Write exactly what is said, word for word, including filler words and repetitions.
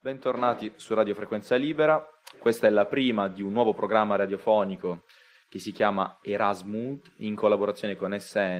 Bentornati su Radio Frequenza Libera, questa è la prima di un nuovo programma radiofonico che si chiama Erasmus in collaborazione con S N